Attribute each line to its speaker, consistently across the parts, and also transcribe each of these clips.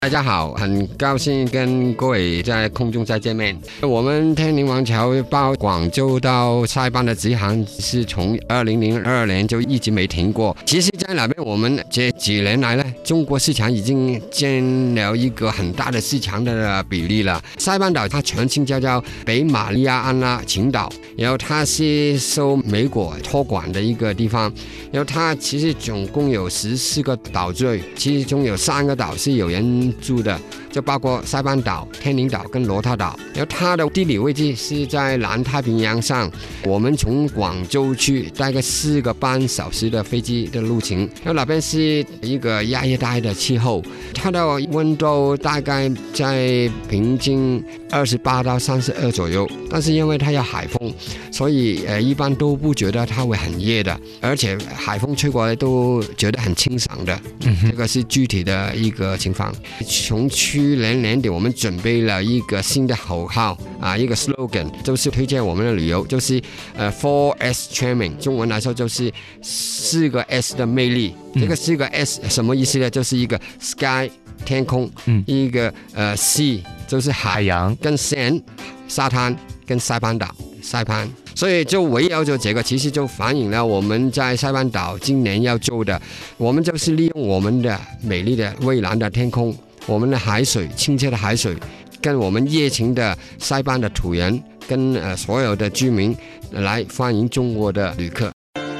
Speaker 1: 大家好，很高兴跟各位在空中再见面。我们天宁王朝包广州到塞班的直航是从2002年就一直没停过。其实在那边我们这几年来呢，中国市场已经占了一个很大的市场的比例了。塞班岛它全称叫北马里亚安拉群岛，然后它是受美国托管的一个地方，然后它其实总共有14个岛屿，其中有3个岛是有人住的，就包括塞班岛、天宁岛跟罗塔岛。然后它的地理位置是在南太平洋上，我们从广州去大概4个半小时的飞机的路程。然后那边是一个亚热带的气候，它的温度大概在平均28到32左右，但是因为它有海风，所以一般都不觉得它会很热的，而且海风吹过来都觉得很清爽的。这个是具体的一个情况。从去年年底，我们准备了一个新的口号啊，一个 slogan， 就是推荐我们的旅游，就是4S charming， 中文来说就是4个 S 的魅力。这个4个 S 什么意思呢？就是一个 sky 天空，一个sea 就是海洋，跟 sand 沙滩，跟塞班岛塞班。所以就围绕着这个，其实就反映了我们在塞班岛今年要做的，我们就是利用我们的美丽的蔚蓝的天空，我们的海水，清澈的海水，跟我们热情的塞班的土人，跟所有的居民来欢迎中国的旅客。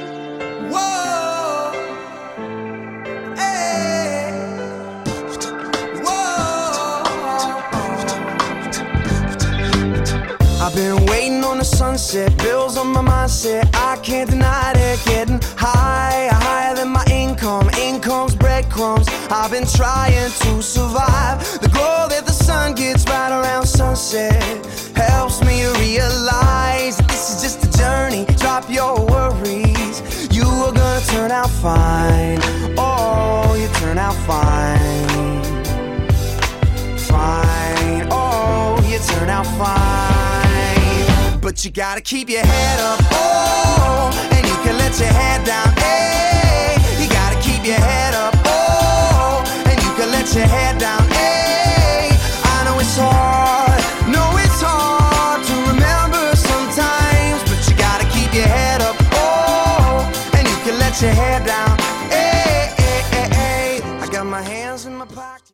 Speaker 2: I've been waiting on the sunset, bills on my mindset, I can't deny it, getting higher, higher than my income, income's breadcrumbs, I've been trying to survive, the glow that the sun gets right around sunset, helps me realize that this is just a journey, drop your worries, you are gonna turn out fine, oh, you turn out fine, fine, oh, you turn out fine.But you gotta keep your head up, oh, and you can let your head down, hey. You gotta keep your head up, oh, and you can let your head down.